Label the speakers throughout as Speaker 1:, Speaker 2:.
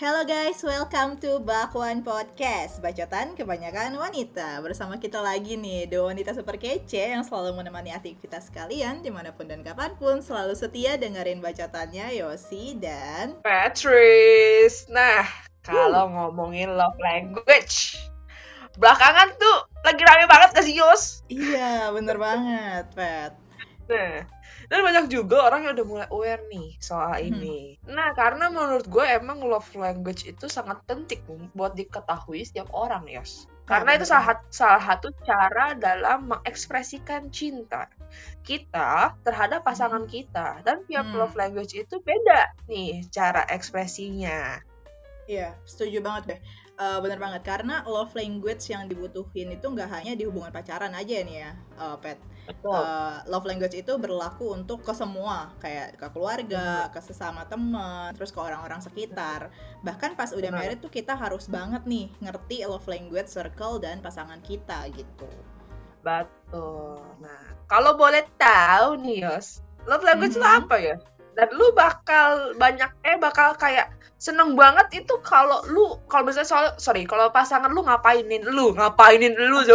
Speaker 1: Hello guys, welcome to Bakwan Podcast, bacotan kebanyakan wanita. Bersama kita lagi nih, dua wanita super kece yang selalu menemani aktivitas kalian dimanapun dan kapanpun. Selalu setia dengerin bacotannya Yosi dan
Speaker 2: Patrice. Nah, kalau ngomongin love language, belakangan tuh lagi rame banget gak sih, Yos?
Speaker 1: Iya, bener banget, Pat.
Speaker 2: Nah, dan banyak juga orang yang udah mulai aware nih soal ini. Nah, karena menurut gue emang love language itu sangat penting buat diketahui setiap orang, Yos. Karena itu salah satu cara dalam mengekspresikan cinta kita terhadap pasangan kita. Dan tiap love language itu beda nih cara ekspresinya.
Speaker 1: Iya, setuju banget deh. Bener banget, karena love language yang dibutuhin itu nggak hanya di hubungan pacaran aja nih ya, Pet. Love language itu berlaku untuk ke semua, kayak ke keluarga, ke sesama teman, terus ke orang-orang sekitar. Bahkan pas udah married tuh kita harus banget nih ngerti love language circle dan pasangan kita gitu.
Speaker 2: Betul. Nah, kalau boleh tahu nih, Yos, love language itu apa ya? Dan lu bakal kayak seneng banget itu kalau misalnya kalau pasangan lu ngapainin lu tuh.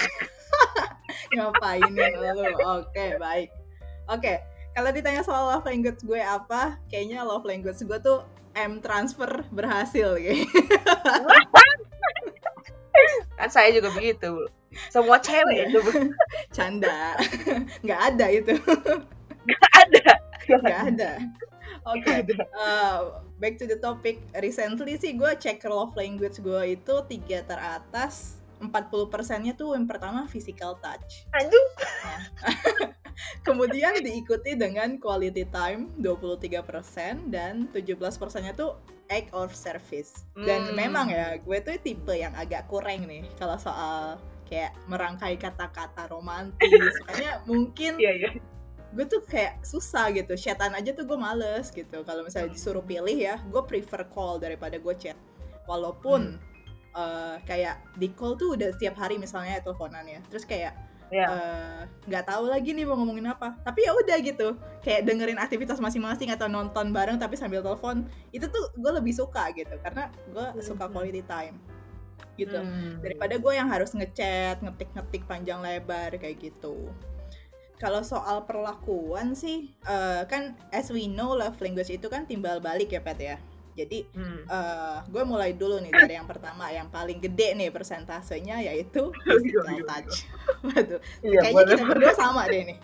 Speaker 1: Ngapainin lu? Oke, baik. Oke, kalau ditanya soal love language gue apa, kayaknya love language gue tuh M-transfer berhasil gitu.
Speaker 2: Kan saya juga begitu. Semua cewek itu.
Speaker 1: Canda. Nggak ada itu.
Speaker 2: Nggak ada.
Speaker 1: Oke, back to the topic. Recently sih gue cek love language gue itu 3 teratas, 40%-nya tuh yang pertama physical touch.
Speaker 2: Aduh.
Speaker 1: Kemudian diikuti dengan quality time 23% dan 17%-nya tuh act of service. Dan memang ya, gue tuh tipe yang agak kurang nih kalau soal kayak merangkai kata-kata romantis. Makanya mungkin gue tuh kayak susah gitu, chatan aja tuh gue males gitu. Kalau misalnya disuruh pilih ya, gue prefer call daripada gue chat. Walaupun kayak di call tuh udah setiap hari misalnya teleponan ya, terus kayak nggak tahu lagi nih mau ngomongin apa. Tapi ya udah gitu, kayak dengerin aktivitas masing-masing atau nonton bareng tapi sambil telepon, itu tuh gue lebih suka gitu, karena gue suka quality time gitu, daripada gue yang harus ngechat, ngetik panjang lebar kayak gitu. Kalau soal perlakuan sih, kan as we know love language itu kan timbal balik ya, Pat ya. Jadi gue mulai dulu nih dari yang pertama, yang paling gede nih persentasenya, yaitu physical touch. Waduh, kayaknya kita berdua sama deh nih.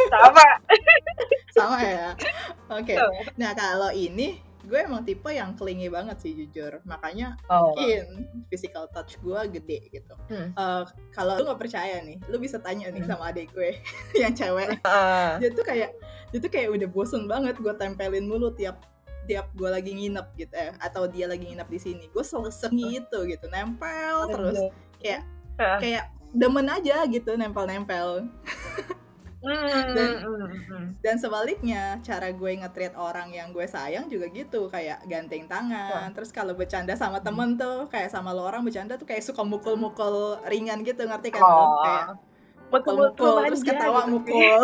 Speaker 1: Sama ya. Oke. Nah kalau ini gue emang tipe yang clingy banget sih jujur, makanya mungkin physical touch gue gede gitu. Kalau lu nggak percaya nih, lu bisa tanya nih sama adik gue yang cewek. Dia tuh kayak udah bosen banget gue tempelin mulu tiap gue lagi nginep gitu atau dia lagi nginep di sini, gue selesai gitu nempel terus, kayak demen aja gitu nempel. Dan sebaliknya, cara gue nge-treat orang yang gue sayang juga gitu, kayak ganteng tangan. Terus kalau bercanda sama temen tuh, kayak sama lo orang bercanda tuh kayak suka mukul-mukul ringan gitu, ngerti kan lo? Kayak mukul-mukul terus ketawa gitu, mukul.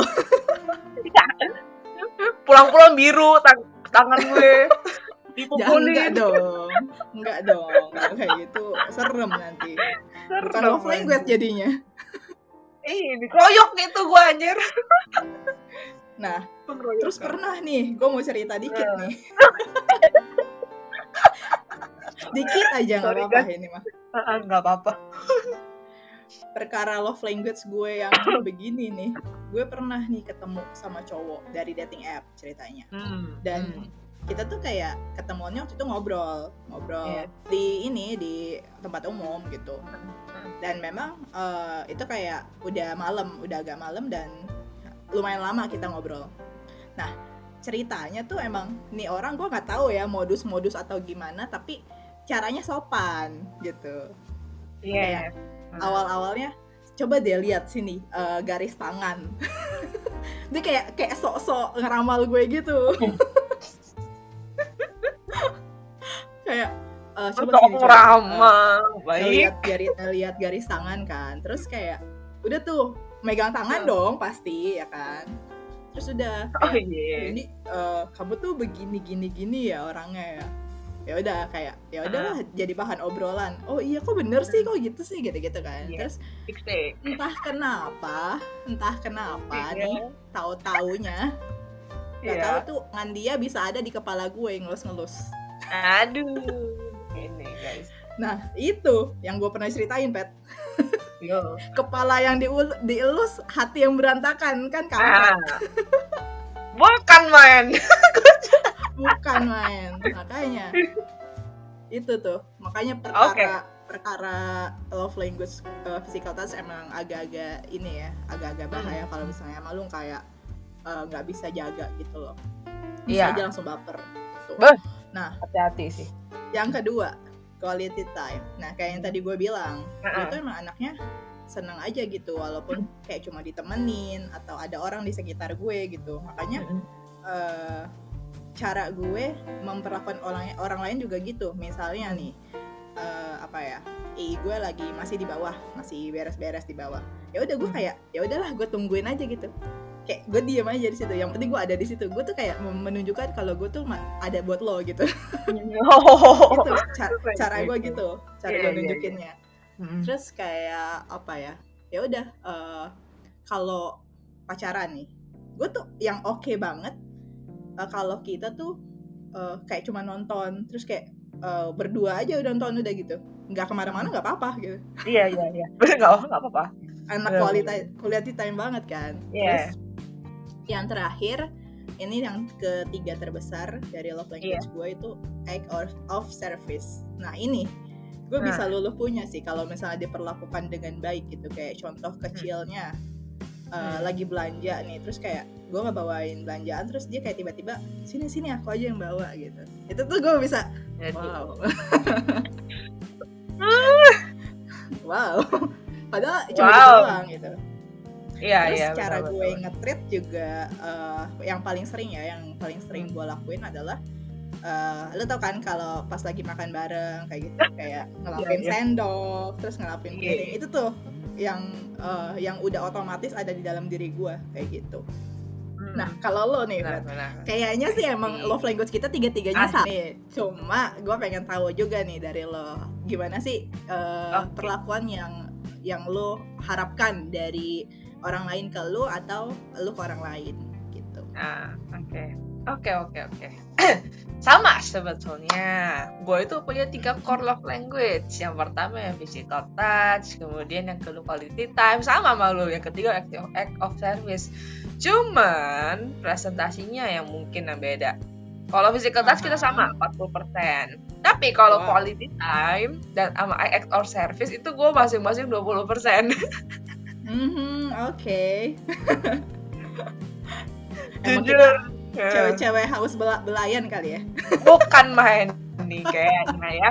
Speaker 2: Pulang-pulang biru tangan gue
Speaker 1: dipukulin. Enggak dong, kalau kayak gitu serem nanti. Bukan love language jadinya.
Speaker 2: Dikeroyok gitu gue anjir.
Speaker 1: Nah, terus pernah nih, gue mau cerita dikit nih. Dikit aja, gak apa-apa ini mah.
Speaker 2: Gak apa-apa.
Speaker 1: Perkara love language gue yang begini nih, gue pernah nih ketemu sama cowok dari dating app ceritanya. Dan kita tuh kayak ketemuannya waktu itu ngobrol di tempat umum gitu. Dan memang itu kayak udah agak malam dan lumayan lama kita ngobrol. Nah ceritanya tuh emang nih orang, gue nggak tahu ya modus atau gimana, tapi caranya sopan gitu. Kayak awal-awalnya coba deh lihat sini garis tangan. Dia kayak sok-sok ngeramal gue gitu. Kayak coba sini lihat garis tangan kan, terus kayak udah tuh megang tangan dong pasti ya kan, terus udah kayak, ini kamu tuh begini ya orangnya ya, ya udah kayak ya udahlah jadi bahan obrolan. Oh iya kok bener sih, kok gitu sih, gitu-gitu kan. Terus entah kenapa nih tahu-taunya nggak tahu tuh Ngandia bisa ada di kepala gue ngelus-ngelus.
Speaker 2: Aduh, ini guys.
Speaker 1: Nah itu yang gue pernah ceritain, Pet. Kepala yang dielus, hati yang berantakan kan kamu.
Speaker 2: Bukan main.
Speaker 1: Bukan main. Makanya itu tuh, makanya perkara love language physical touch emang agak-agak ini ya, agak-agak bahaya kalau misalnya emang lu kayak nggak bisa jaga gitu loh, bisa aja langsung baper gitu. Nah,
Speaker 2: hati-hati sih.
Speaker 1: Yang kedua, quality time. Nah, kayak yang tadi gue bilang, itu emang anaknya seneng aja gitu, walaupun kayak cuma ditemenin atau ada orang di sekitar gue gitu. Makanya cara gue memperlakukan orang lain juga gitu. Misalnya nih, gue lagi masih di bawah, masih beres-beres di bawah. Ya udah gue kayak, ya udahlah gue tungguin aja gitu. Kayak gue diem aja di situ. Yang penting gue ada di situ. Gue tuh kayak menunjukkan kalau gue tuh ada buat lo gitu. Itu cara gue gitu. Cara gue nunjukinnya. Terus kayak apa ya? Ya udah. Kalau pacaran nih, gue tuh yang oke banget. Kalau kita tuh kayak cuma nonton, terus kayak berdua aja udah nonton udah gitu. Nggak kemana-mana nggak apa-apa gitu.
Speaker 2: Iya. Bener nggak apa-apa.
Speaker 1: Anak quality time banget kan. Terus yang terakhir, ini yang ketiga terbesar dari love language gue itu act of service. Nah ini gue bisa luluh punya sih kalau misalnya diperlakukan dengan baik gitu. Kayak contoh kecilnya, lagi belanja nih, terus kayak gue ngebawain belanjaan, terus dia kayak tiba-tiba sini aku aja yang bawa gitu. Itu tuh gue bisa wow padahal cuma gitu doang gitu. Terus cara gue nge-treat juga yang paling sering gue lakuin adalah lo tau kan kalau pas lagi makan bareng kayak gitu, kayak ngelapin sendok, terus ngelapin piring, itu tuh yang udah otomatis ada di dalam diri gue kayak gitu. Nah kalau lo nih, kayaknya sih emang love language kita tiga-tiganya sama nih. Cuma gue pengen tahu juga nih dari lo, gimana sih perlakuan yang lo harapkan dari orang lain ke lo atau lo ke orang lain gitu.
Speaker 2: Oke. Sama sebetulnya. Gue itu punya 3 core love language. Yang pertama yang physical touch, kemudian yang kedua quality time, sama sama lo. Yang ketiga act of service. Cuman presentasinya yang mungkin yang beda. Kalau physical touch kita sama 40%. Tapi kalau quality time dan sama act of service itu gue masing-masing 20%.
Speaker 1: Oke.
Speaker 2: Jujur,
Speaker 1: cewek-cewek haus belayan kali ya.
Speaker 2: Bukan main nih kayaknya ya.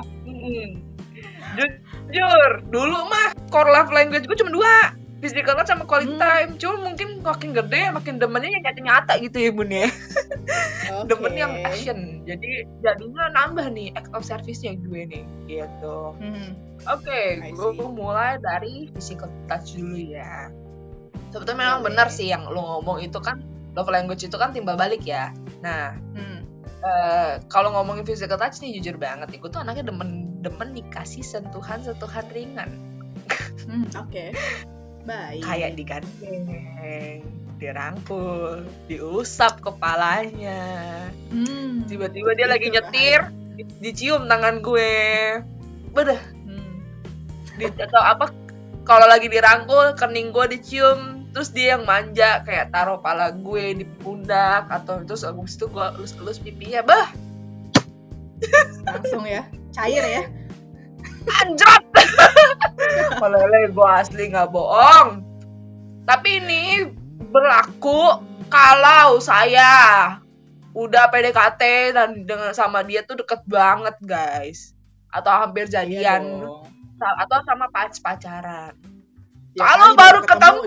Speaker 2: Jujur, dulu mah core love language gue cuma 2, physical touch sama quality time. Cuma mungkin makin gede makin demennya yang nyata-nyata gitu ya bun ya. Demen yang action. Jadi jadinya nambah nih act of service-nya gue nih gitu. Oke, gue mulai dari physical touch dulu ya. Sebetulnya memang benar sih yang lo ngomong itu kan, love language itu kan timbal balik ya. Nah, kalau ngomongin physical touch nih jujur banget nih, gue tuh anaknya demen dikasih sentuhan ringan.
Speaker 1: Oke. Baik.
Speaker 2: Kayak digandeng, dirangkul, diusap kepalanya. Tiba-tiba dia lagi nyetir, dicium tangan gue. Bedah. Atau apa, kalau lagi dirangkul kening gue dicium, terus dia yang manja kayak taruh pala gue di pundak, atau terus abis itu gue elus-elus pipinya,
Speaker 1: langsung ya cair ya,
Speaker 2: anjot. Meleleh gue asli nggak bohong. Tapi ini berlaku kalau saya udah PDKT dan dengan sama dia tuh deket banget guys, atau hampir jadian, atau sama pacaran. Ya, kalau baru ketemu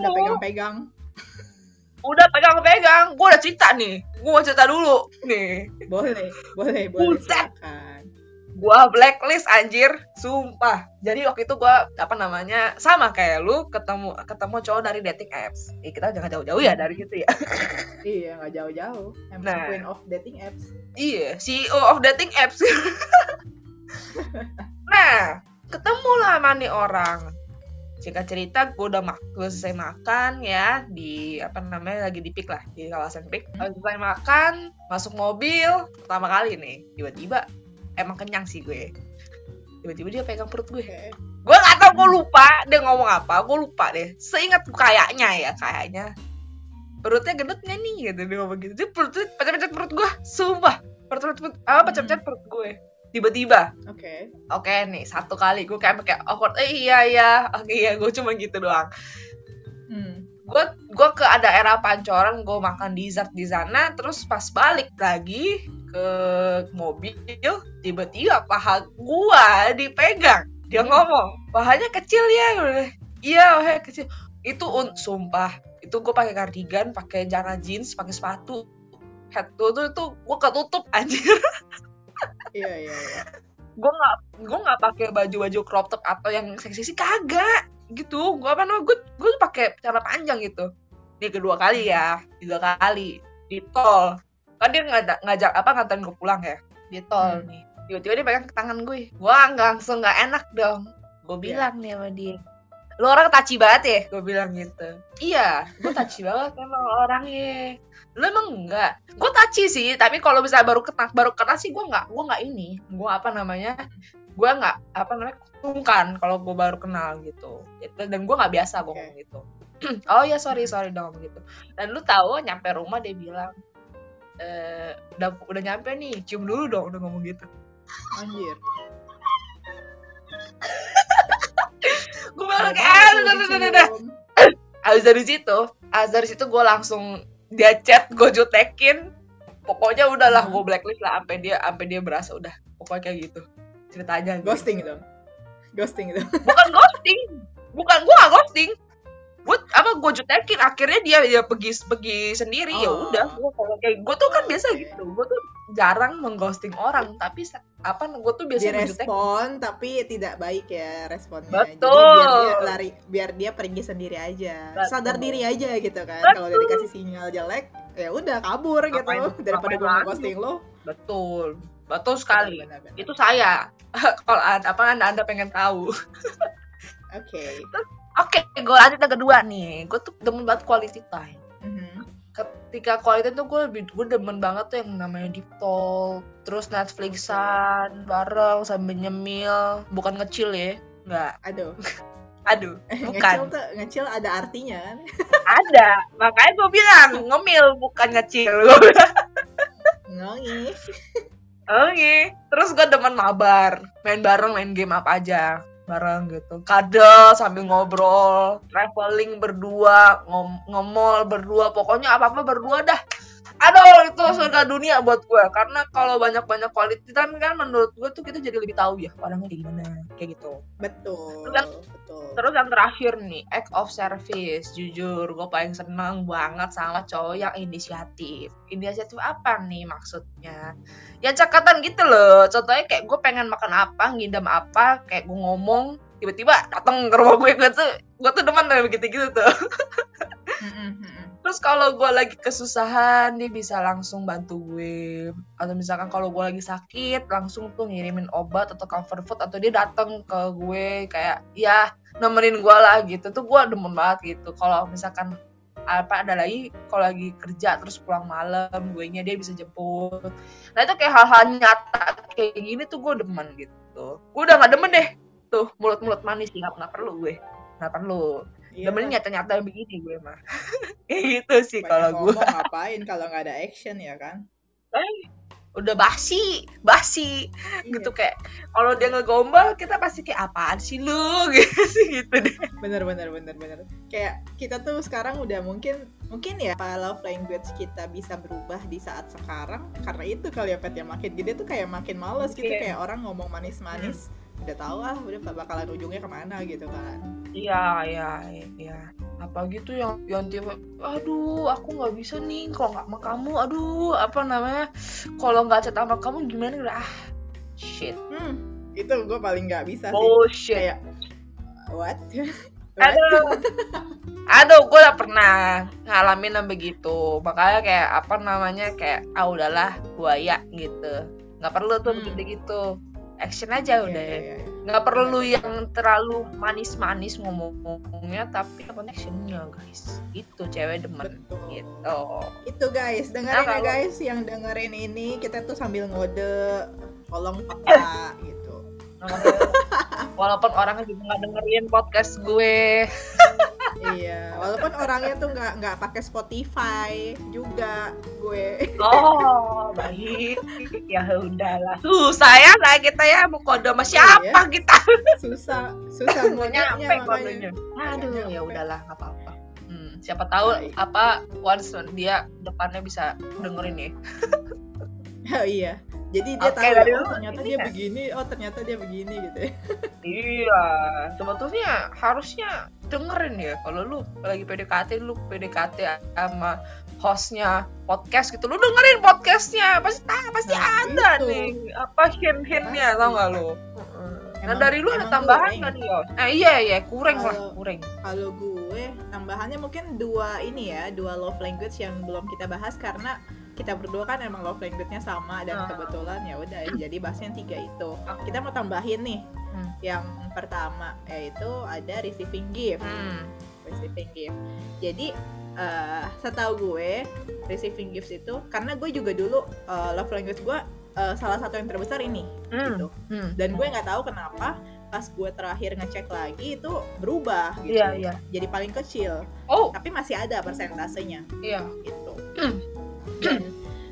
Speaker 2: udah pegang-pegang, gue udah cerita nih, gue mau cerita dulu nih.
Speaker 1: Boleh silakan.
Speaker 2: Gua blacklist anjir, sumpah. Jadi waktu itu gua sama kayak lu ketemu cowok dari dating apps. Kita jangan jauh-jauh ya dari gitu ya.
Speaker 1: Iya, nggak jauh-jauh. Queen of dating apps.
Speaker 2: Iya, CEO of dating apps. Nah, ketemu lah sama nih orang. Singkat cerita, gue selesai makan ya di lagi di Pik lah, di kawasan Pik. Selesai makan, masuk mobil pertama kali nih, tiba-tiba emang kenyang sih gue. Tiba-tiba dia pegang perut gue. Gue nggak tahu, gue lupa dia ngomong apa, gue lupa deh. Seingat kayaknya perutnya gendut nggak nih gitu, dia ngomong gitu. Dia pecah-pecah perut gue, sumpah. Pecah-pecah perut gue. Tiba-tiba. Oke nih, satu kali gue kayak awkward. Iya. Oke, iya, gue cuma gitu doang. Gue ke daerah Pancoran, gue makan dessert di sana, terus pas balik lagi ke mobil, tiba-tiba paha gue dipegang. Dia ngomong, pahanya kecil ya. Iya, pahanya kecil. Itu sumpah, itu gue pakai kardigan, pakai celana jeans, pakai sepatu, head tuh gue ketutup anjir.
Speaker 1: Iya.
Speaker 2: Gue nggak pakai baju crop top atau yang seksi kagak gitu. Gue pakai celana panjang gitu. Ini kedua kali ya, 3 kali di tol. Kan dia nganterin gue pulang ya di tol nih. Tiba-tiba dia pegang tangan gue. Langsung nggak enak dong. Gue bilang nih sama dia, lu orang taci banget ya, gue bilang gitu. Iya, gue taci banget emang orangnya. Lu emang enggak? Gue taci sih, tapi kalau misalnya baru kena sih gue nggak ini. Gue nggak sungkan kalau gue baru kenal gitu. Dan gue nggak biasa gue ngomong gitu. Oh ya sorry dong gitu. Dan lu tahu nyampe rumah dia bilang, udah nyampe nih, cium dulu dong, udah ngomong gitu.
Speaker 1: Anjir.
Speaker 2: Gue bilang udah. Abis dari situ gue langsung dia chat, gue jutekin. Pokoknya udahlah, gue blacklist lah sampai dia berasa udah. Pokoknya kayak gitu ceritanya.
Speaker 1: Ghosting itu.
Speaker 2: Bukan ghosting. Gue gak ghosting. Gue jutekin, akhirnya dia pergi sendiri. Ya udah, gue tuh kan biasa gitu. Gue tuh jarang mengghosting orang, tapi gue tuh biasa
Speaker 1: direspon tapi tidak baik ya responnya.
Speaker 2: Betul.
Speaker 1: Jadi biar dia pergi sendiri aja.
Speaker 2: Betul.
Speaker 1: Sadar diri aja gitu kan. Kalau udah dikasih sinyal jelek, ya udah kabur gitu. Daripada gue ghosting lo.
Speaker 2: Betul sekali. Benar. Itu saya. Kalau Anda pengen tahu. Oke, gue lanjut yang kedua nih. Gue tuh demen banget quality time. Ketika quality tuh gue demen banget tuh yang namanya deep talk, terus Netflixan bareng sambil nyemil, bukan ngecil ya, nggak. Aduh, bukan.
Speaker 1: Ngecil ada artinya kan?
Speaker 2: Ada, makanya gue bilang ngemil bukan ngecil. Oke. Terus gue demen mabar, main bareng, main game apa aja bareng gitu, kadal sambil ngobrol, traveling berdua, nge-mall berdua, pokoknya apa-apa berdua dah. Aduh, itu surga dunia buat gue. Karena kalau banyak-banyak quality time kan menurut gue tuh kita jadi lebih tahu ya orangnya kayak gimana, kayak gitu.
Speaker 1: Betul.
Speaker 2: Terus yang terakhir nih, act of service. Jujur, gue paling seneng banget sama cowok yang inisiatif. Inisiatif apa nih maksudnya? Ya cakatan gitu loh. Contohnya kayak gue pengen makan apa, ngidam apa, kayak gue ngomong, tiba-tiba datang ke rumah gue tuh demen kayak begitu-gitu tuh. Terus kalau gue lagi kesusahan, dia bisa langsung bantu gue. Atau misalkan kalau gue lagi sakit, langsung tuh ngirimin obat atau comfort food, atau dia datang ke gue kayak ya nemenin gue lah gitu. Tuh gue demen banget gitu. Kalau misalkan ada lagi, kalau lagi kerja terus pulang malam, guenya dia bisa jemput. Nah itu kayak hal-hal nyata kayak gini tuh gue demen gitu. Gue udah gak demen deh tuh mulut-mulut manis, nggak perlu gue. Nggak perlu. Demennya nyata-nyata begini gue mah. Kayak gitu sih kalau gue.
Speaker 1: Ngapain kalau nggak ada action ya kan?
Speaker 2: Udah basi gitu. Kayak kalau dia ngegombal kita pasti kayak apaan sih lu gitu deh.
Speaker 1: Bener. Kayak kita tuh sekarang udah mungkin ya love language kita bisa berubah di saat sekarang karena itu kali ya Pet, ya makin gede tuh kayak makin males gitu. Kayak orang ngomong manis-manis udah tahu udah bakalan ujungnya kemana gitu kan.
Speaker 2: Iya. Apa gitu yang tiba, aduh aku nggak bisa nih kalau nggak sama kamu, aduh kalau nggak chat sama kamu gimana, udah Shit.
Speaker 1: Itu gue paling nggak bisa sih.
Speaker 2: Bullshit.
Speaker 1: Kayak what?
Speaker 2: Aduh, gue udah pernah ngalamin yang begitu. Makanya kayak apa namanya, kayak udahlah buaya gitu. Nggak perlu tuh gitu-gitu. Action aja udah. Nggak perlu yang terlalu manis-manis ngomongnya, tapi apa actionnya guys. Itu cewek demen.
Speaker 1: Betul.
Speaker 2: Gitu.
Speaker 1: Itu guys, dengerin ya guys, yang dengerin ini kita tuh sambil ngode, tolong peka gitu.
Speaker 2: Walaupun orangnya juga nggak dengerin podcast gue.
Speaker 1: Iya, walaupun orangnya tuh nggak pakai Spotify juga gue.
Speaker 2: Oh, baik. Ya udahlah. Susah ya kayak kita ya, mau kode sama siapa kita?
Speaker 1: Susah
Speaker 2: ngodenya makanya. Aduh, ya udahlah, nggak apa-apa. Siapa tahu apa once dia depannya bisa dengerin ya.
Speaker 1: Oh iya. Jadi dia tahu ternyata dia begini, ternyata dia begini gitu ya.
Speaker 2: Iya, sebetulnya harusnya dengerin ya. Kalau lu lagi PDKT sama hostnya podcast gitu, lu dengerin podcastnya, pasti ada itu. Nih apa hint-hintnya, tau gak lu? Nah dari lu ada tambahan nggak nih Yos? Iya kurang.
Speaker 1: Kalau gue tambahannya mungkin dua love language yang belum kita bahas karena kita berdua kan emang love language-nya sama dan kebetulan ya udah jadi bahasnya 3 itu. Kita mau tambahin nih. Yang pertama yaitu ada receiving gift. Receiving gift. Jadi setahu gue receiving gifts itu karena gue juga dulu love language gue salah satu yang terbesar ini gitu. Dan gue nggak tahu kenapa pas gue terakhir ngecek lagi itu berubah gitu.
Speaker 2: Iya.
Speaker 1: Jadi paling kecil. Tapi masih ada persentasenya.
Speaker 2: Iya.
Speaker 1: Gitu. Dan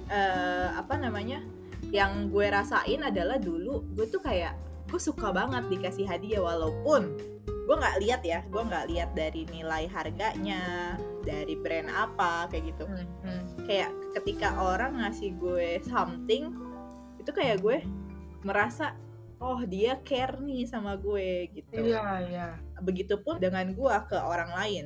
Speaker 1: yang gue rasain adalah dulu gue tuh kayak gue suka banget dikasih hadiah walaupun gue nggak lihat dari nilai harganya, dari brand apa kayak gitu. Kayak ketika orang ngasih gue something itu kayak gue merasa dia care nih sama gue gitu.
Speaker 2: Iya.
Speaker 1: Begitupun dengan gue ke orang lain.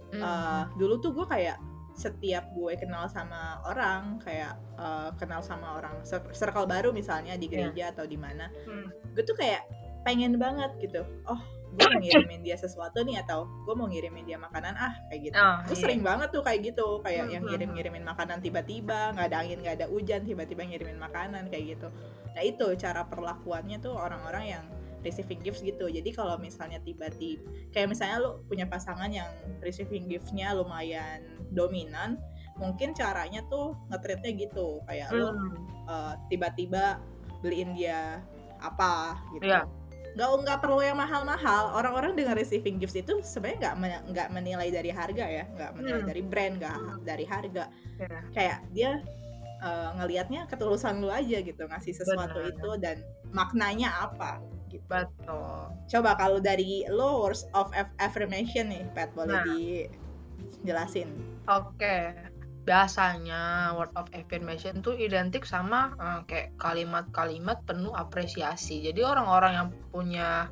Speaker 1: Dulu tuh gue kayak setiap gue kenal sama orang kayak kenal sama orang circle baru misalnya di gereja atau di mana, gue tuh kayak pengen banget gitu, gue mau ngirimin dia sesuatu nih atau gue mau ngirimin dia makanan kayak gitu. Gue sering banget tuh kayak gitu, kayak yang ngirimin makanan tiba-tiba nggak ada angin nggak ada hujan tiba-tiba ngirimin makanan kayak gitu. Nah itu cara perlakuannya tuh orang-orang yang receiving gifts gitu. Jadi kalau misalnya tiba-tiba kayak misalnya lu punya pasangan yang receiving gift-nya lumayan dominan, mungkin caranya tuh nge-treatnya gitu, kayak lu tiba-tiba beliin dia apa gitu. Nggak perlu yang mahal-mahal. Orang-orang dengan receiving gifts itu sebenarnya nggak menilai dari harga ya, nggak menilai dari brand, nggak dari harga. Kayak dia ngelihatnya ketulusan lu aja gitu, ngasih sesuatu itu dan maknanya apa gitu.
Speaker 2: Betul.
Speaker 1: Coba kalau dari lo words of affirmation nih, Pat, boleh dijelasin?
Speaker 2: Oke. Biasanya word of affirmation tuh identik sama kayak kalimat-kalimat penuh apresiasi. Jadi orang-orang yang punya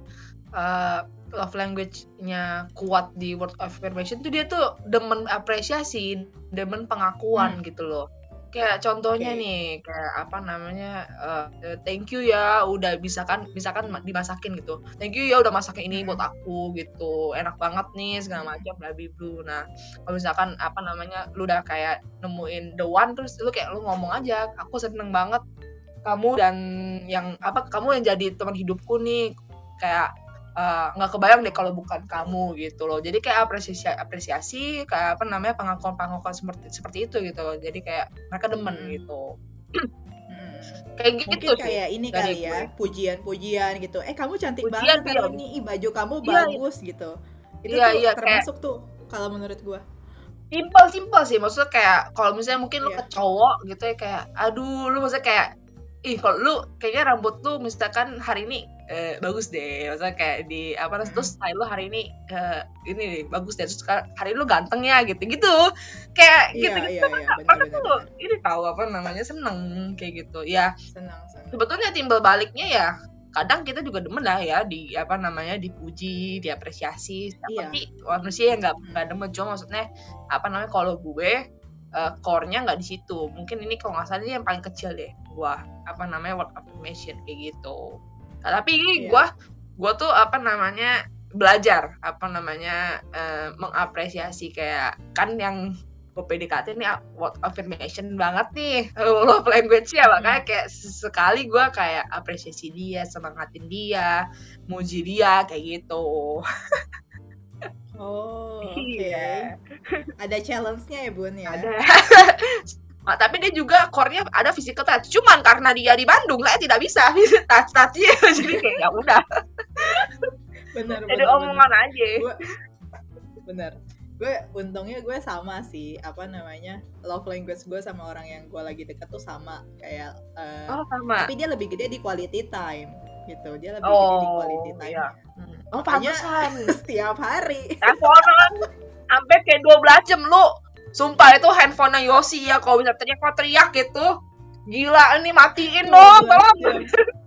Speaker 2: love language-nya kuat di word of affirmation tuh dia tuh demen apresiasi, demen pengakuan gitu loh. Kayak contohnya nih, kayak apa namanya, thank you ya udah misalkan dimasakin gitu, thank you ya udah masakin ini buat aku gitu, enak banget nih segala macam bla bla bla. Nah kalau misalkan apa namanya lu udah kayak nemuin the one, terus lu kayak lu ngomong aja, aku seneng banget kamu dan kamu yang jadi teman hidupku nih, kayak nggak kebayang deh kalau bukan kamu gitu loh. Jadi kayak apresiasi kayak apa namanya pengakuan seperti itu gitu. Jadi kayak mereka demen gitu. Kayak gitu
Speaker 1: mungkin
Speaker 2: sih.
Speaker 1: Kayak ini kali ya, pujian gitu. Kamu cantik banget hari ini, baju kamu bagus gitu. Itu termasuk kayak, tuh kalau menurut gua.
Speaker 2: Simpel sih, maksudnya kayak kalau misalnya mungkin lu ke cowok gitu ya, kayak aduh lu maksudnya kayak kalau lu kayaknya rambut lu misalkan hari ini bagus deh, maksudnya kayak di terus style lu hari ini ini bagus deh, terus hari ini lu ganteng ya gitu kayak gitu bener. Ini tahu apa namanya, seneng kayak gitu ya. Senang. Sebetulnya timbal baliknya ya kadang kita juga demen lah ya di apa namanya dipuji, diapresiasi. Tapi manusia yang nggak demen, cuma maksudnya apa namanya kalau gue core-nya nggak di situ. Mungkin ini kalau nggak salah ini yang paling kecil deh gue word affirmation kayak gitu. Nah, tapi
Speaker 1: Iya.
Speaker 2: gue tuh belajar mengapresiasi kayak kan yang gue PDKT nih word affirmation banget nih love language ya, makanya kayak sekali gue kayak apresiasi dia, semangatin dia, muji dia kayak gitu.
Speaker 1: Oh, oke.
Speaker 2: Iya.
Speaker 1: Ada challenge-nya ya, Bun ya?
Speaker 2: Ada. Nah, tapi dia juga core-nya ada physical touch. Cuman karena dia di Bandung, saya tidak bisa touch-touchnya. Jadi kayak ya udah.
Speaker 1: Bener.
Speaker 2: Jadi omongan aja.
Speaker 1: Bener. Untungnya gue sama sih, love language gue sama orang yang gue lagi deket tuh sama kayak.
Speaker 2: Sama.
Speaker 1: Tapi dia lebih gede di quality time gitu. Dia lebih gede di quality time.
Speaker 2: Iya.
Speaker 1: Makanya
Speaker 2: pantesan.
Speaker 1: Setiap hari.
Speaker 2: Teleponan sampai kayak 12 jam lu. Sumpah itu handphone Yosi ya, kalau bisa teriak gitu. Gila, ini matiin dong, tolong.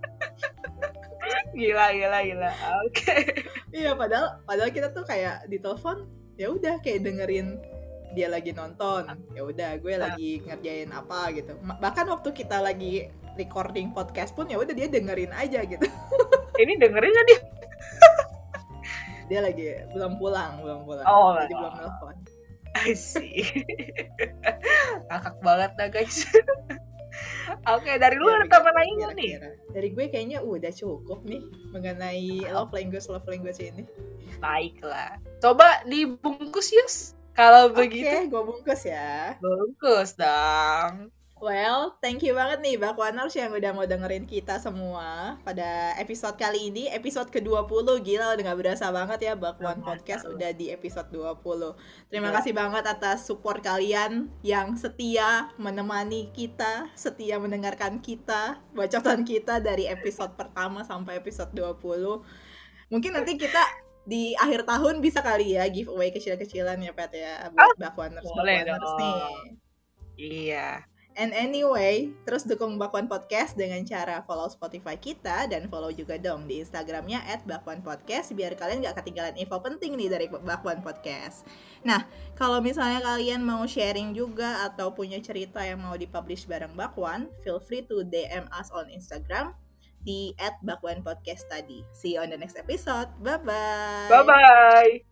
Speaker 2: Gila. Oke.
Speaker 1: Iya, padahal kita tuh kayak di telepon ya udah kayak dengerin dia lagi nonton. Ya udah, gue lagi ngerjain apa gitu. Bahkan waktu kita lagi recording podcast pun ya udah dia dengerin aja gitu.
Speaker 2: Ini dengerin gak dia?
Speaker 1: Dia lagi belum pulang. Jadi belum nelfon.
Speaker 2: I see. Ngakak banget dah guys. Oke, dari lu ada tambahan lagi nggak nih?
Speaker 1: Dari gue kayaknya udah cukup nih mengenai love language ini.
Speaker 2: Baiklah. Coba dibungkus Yus. Kalau begitu.
Speaker 1: Oke, gue bungkus ya.
Speaker 2: Bungkus dong.
Speaker 1: Well, thank you banget nih Bakwaners yang udah mau dengerin kita semua pada episode kali ini, episode ke-20. Gila, udah gak berasa banget ya Bakwan Podcast udah di episode 20. Terima kasih banget atas support kalian yang setia menemani kita, setia mendengarkan kita, bacotan kita dari episode pertama sampai episode 20. Mungkin nanti kita di akhir tahun bisa kali ya giveaway kecil-kecilan ya Pat ya buat Bakwaners nih.
Speaker 2: Iya.
Speaker 1: And anyway, terus dukung Bakwan Podcast dengan cara follow Spotify kita dan follow juga dong di Instagramnya @bakwanpodcast biar kalian gak ketinggalan info penting nih dari Bakwan Podcast. Nah, kalau misalnya kalian mau sharing juga atau punya cerita yang mau dipublish bareng Bakwan, feel free to DM us on Instagram di @bakwanpodcast tadi. See you on the next episode. Bye-bye.
Speaker 2: Bye-bye.